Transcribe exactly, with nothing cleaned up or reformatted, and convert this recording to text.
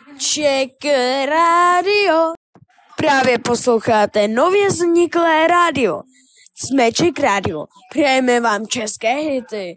Czech rádio. Právě posloucháte nově vzniklé rádio. Jsme Czech rádio. Přejeme vám české hity.